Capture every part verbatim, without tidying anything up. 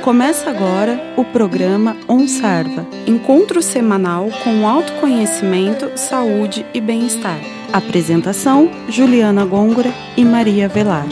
Começa agora o programa OnSarva, encontro semanal com autoconhecimento, saúde e bem-estar. Apresentação: Juliana Gôngora e Maria Velar.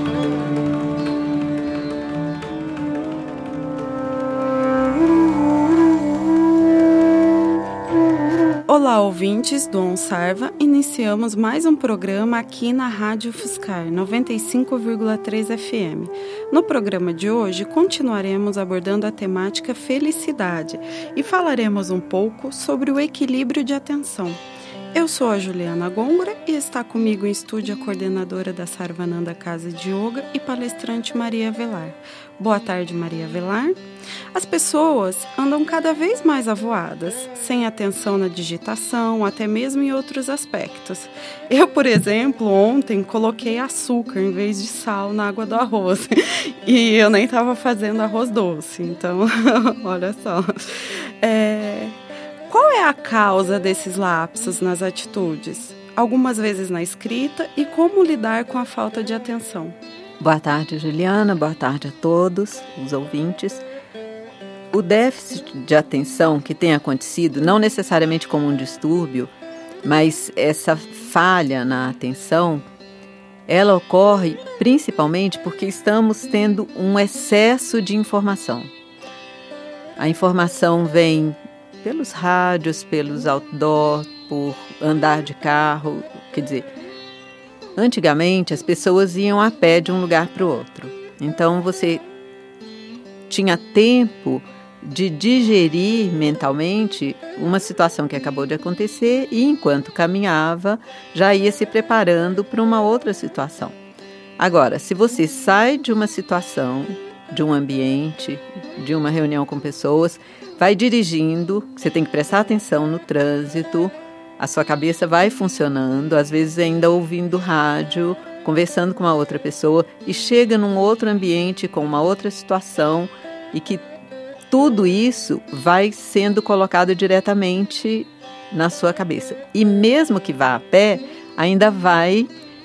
Olá, ouvintes do OnSarva. Iniciamos mais um programa aqui na Rádio Fiscar noventa e cinco vírgula três F M. No programa de hoje, continuaremos abordando a temática felicidade e falaremos um pouco sobre o equilíbrio de atenção. Eu sou a Juliana Gôngora e está comigo em estúdio a coordenadora da Sarvananda Casa de Yoga e palestrante Maria Velar. Boa tarde, Maria Velar. As pessoas andam cada vez mais avoadas, sem atenção na digitação, até mesmo em outros aspectos. Eu, por exemplo, ontem coloquei açúcar em vez de sal na água do arroz e eu nem estava fazendo arroz doce, então, olha só. É... Qual é a causa desses lapsos nas atitudes? Algumas vezes na escrita, e como lidar com a falta de atenção? Boa tarde, Juliana. Boa tarde a todos os ouvintes. O déficit de atenção que tem acontecido, não necessariamente como um distúrbio, mas essa falha na atenção, ela ocorre principalmente porque estamos tendo um excesso de informação. A informação vem pelos rádios, pelos outdoor, por andar de carro. Quer dizer, antigamente as pessoas iam a pé de um lugar para o outro. Então você tinha tempo de digerir mentalmente uma situação que acabou de acontecer e, enquanto caminhava, já ia se preparando para uma outra situação. Agora, se você sai de uma situação, de um ambiente, de uma reunião com pessoas, vai dirigindo, você tem que prestar atenção no trânsito, a sua cabeça vai funcionando, às vezes ainda ouvindo rádio, conversando com uma outra pessoa, e chega num outro ambiente com uma outra situação, e que tudo isso vai sendo colocado diretamente na sua cabeça. E mesmo que vá a pé, ainda vai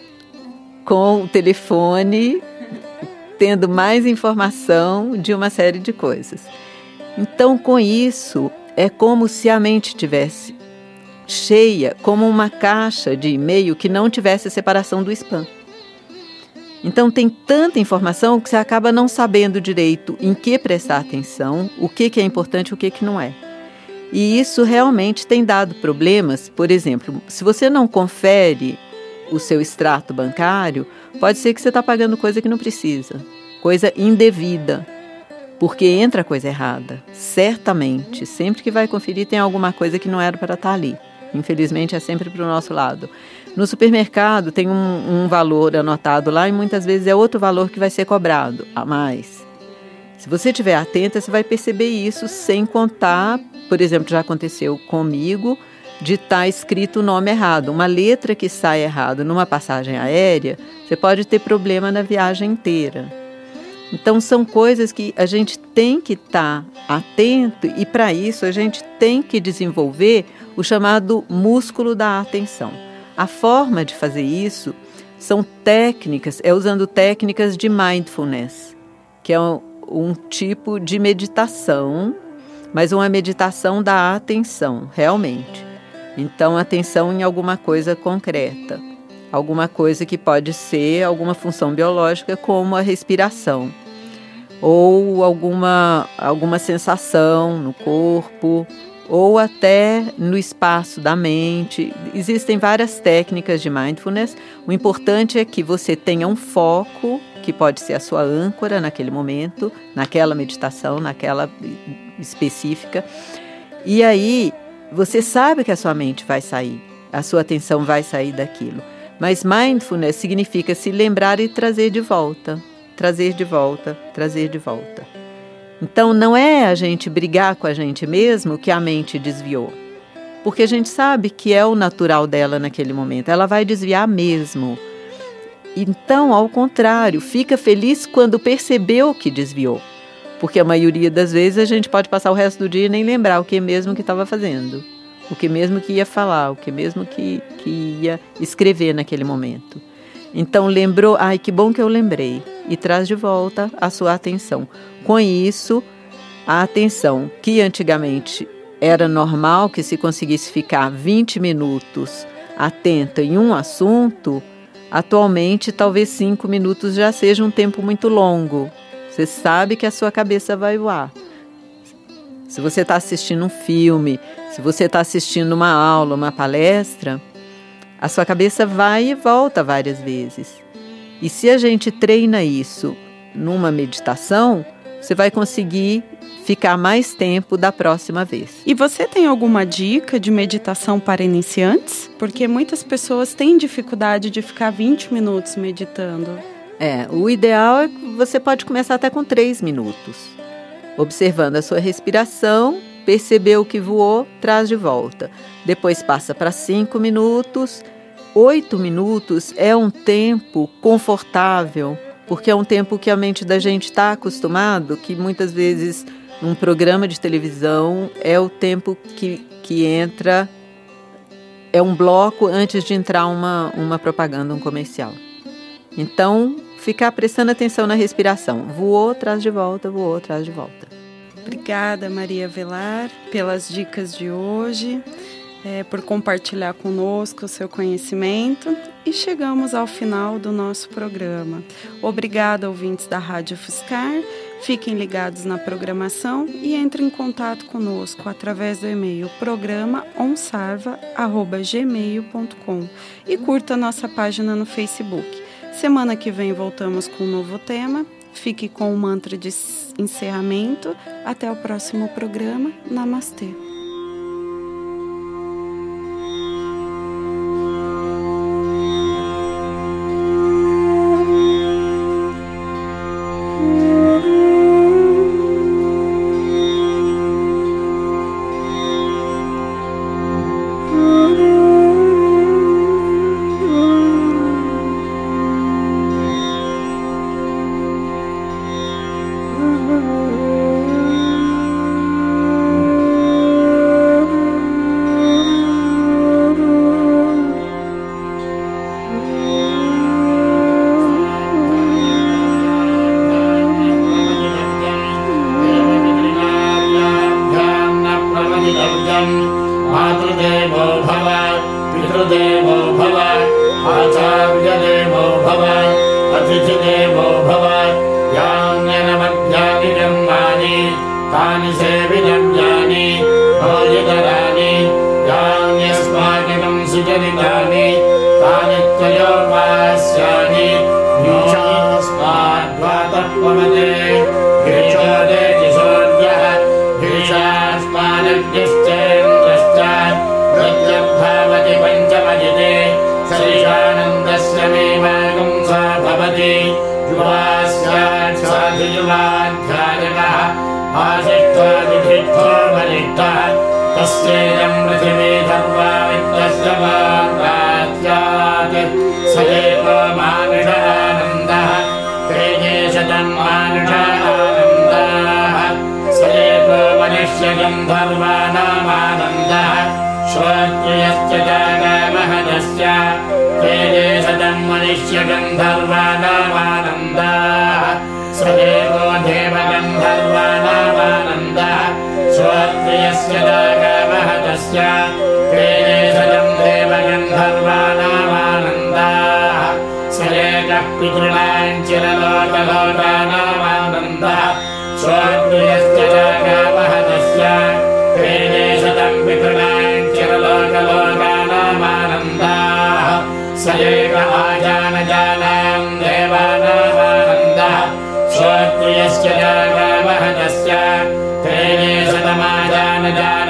com o telefone tendo mais informação de uma série de coisas. Então, com isso, é como se a mente tivesse cheia, como uma caixa de e-mail que não tivesse a separação do spam. Então, tem tanta informação que você acaba não sabendo direito em que prestar atenção, o que, que é importante e o que, que não é. E isso realmente tem dado problemas. Por exemplo, se você não confere o seu extrato bancário, pode ser que você está pagando coisa que não precisa, coisa indevida. Porque entra coisa errada, certamente. Sempre que vai conferir tem alguma coisa que não era para estar ali. Infelizmente é sempre para o nosso lado. No supermercado tem um, um valor anotado lá e muitas vezes é outro valor que vai ser cobrado a mais. Se você estiver atenta, você vai perceber isso sem contar, por exemplo, já aconteceu comigo, de estar escrito o nome errado. Uma letra que sai errado numa passagem aérea, você pode ter problema na viagem inteira. Então, são coisas que a gente tem que estar atento e, para isso, a gente tem que desenvolver o chamado músculo da atenção. A forma de fazer isso são técnicas, é usando técnicas de mindfulness, que é um, um tipo de meditação, mas uma meditação da atenção, realmente. Então, atenção em alguma coisa concreta, alguma coisa que pode ser alguma função biológica, como a respiração, ou alguma, alguma sensação no corpo, ou até no espaço da mente. Existem várias técnicas de mindfulness. O importante é que você tenha um foco, que pode ser a sua âncora naquele momento, naquela meditação, naquela específica. E aí, você sabe que a sua mente vai sair, a sua atenção vai sair daquilo. Mas mindfulness significa se lembrar e trazer de volta. Trazer de volta, trazer de volta. Então, não é a gente brigar com a gente mesmo que a mente desviou. Porque a gente sabe que é o natural dela naquele momento. Ela vai desviar mesmo. Então, ao contrário, fica feliz quando percebeu que desviou. Porque a maioria das vezes a gente pode passar o resto do dia e nem lembrar o que mesmo que estava fazendo. O que mesmo que ia falar, o que mesmo que, que ia escrever naquele momento. Então, lembrou, ai, que bom que eu lembrei. e traz de volta a sua atenção. Com isso, a atenção que antigamente era normal que se conseguisse ficar vinte minutos atenta em um assunto, atualmente talvez cinco minutos já seja um tempo muito longo. Você sabe que a sua cabeça vai voar. Se você está assistindo um filme, se você está assistindo uma aula, uma palestra, a sua cabeça vai e volta várias vezes. E se a gente treina isso numa meditação, você vai conseguir ficar mais tempo da próxima vez. E você tem alguma dica de meditação para iniciantes? Porque muitas pessoas têm dificuldade de ficar vinte minutos meditando. É, o ideal é que você pode começar até com três minutos. Observando a sua respiração, perceber o que voou, traz de volta. Depois passa para cinco minutos. Oito minutos é um tempo confortável, porque é um tempo que a mente da gente está acostumado, que muitas vezes num programa de televisão é o tempo que, que entra, é um bloco antes de entrar uma, uma propaganda, um comercial. Então, ficar prestando atenção na respiração. Voou, traz de volta, voou, traz de volta. Obrigada, Maria Velar, pelas dicas de hoje, é, por compartilhar conosco o seu conhecimento. E chegamos ao final do nosso programa. Obrigada, ouvintes da Rádio Fiscar. Fiquem ligados na programação e entrem em contato conosco através do e-mail programa onsarva arroba gmail ponto com e curta nossa página no Facebook. Semana que vem voltamos com um novo tema. Fique com o mantra de encerramento. Até o próximo programa. Namastê. मातृदेवो भव पितृदेवो भव आचार्यदेवो भव अतिथिदेवो भव यान्यनमध्यानि कर्माणि तानि सेवितव्यानि भोजितराणि यान्यस्माकं सुचरितानि तानि त्रयोपास्यानि नीचास्माद्वातः पवते गिरिशोदेति सूर्यः गिरिशास्मादग्निश्चेन्द्रश्च प्रत्यग्भावति पञ्चमजिते सरिषानन्दस्य मे मार्गं सा भवति युवास्यात् साधियुवाध्यायनः आशिष्ठो वरिष्ठः तस्येदं पृथिवी सर्वा वित्तस्य वाग्राज्यात् स एव मानुषानन्दः तेजे शतं मानुषानन्दाः स एव मनुष्यगन्धर्वाणामानन्दः श्रोत्रियश्च जागामहदस्य तेजे शतं मनुष्यगन्धर्वाणामानन्दाः स एव देवगन्धर्वाणामानन्दः श्रोत्रियस्य जागामहदस्य तेजे शतं देवगन्धर्वाणामानन्दाः स एकः पितॄणां चिरलोकलोकानामानन्दः श्रोत्रियश्च जागामहदस्य तेजे शतं पितॄणां चिरलोकलोकानामानन्दाः स एक आजानजानां देवानामानन्दः श्रोत्रियश्च जागामहदस्य तेजे शतमाजानजानां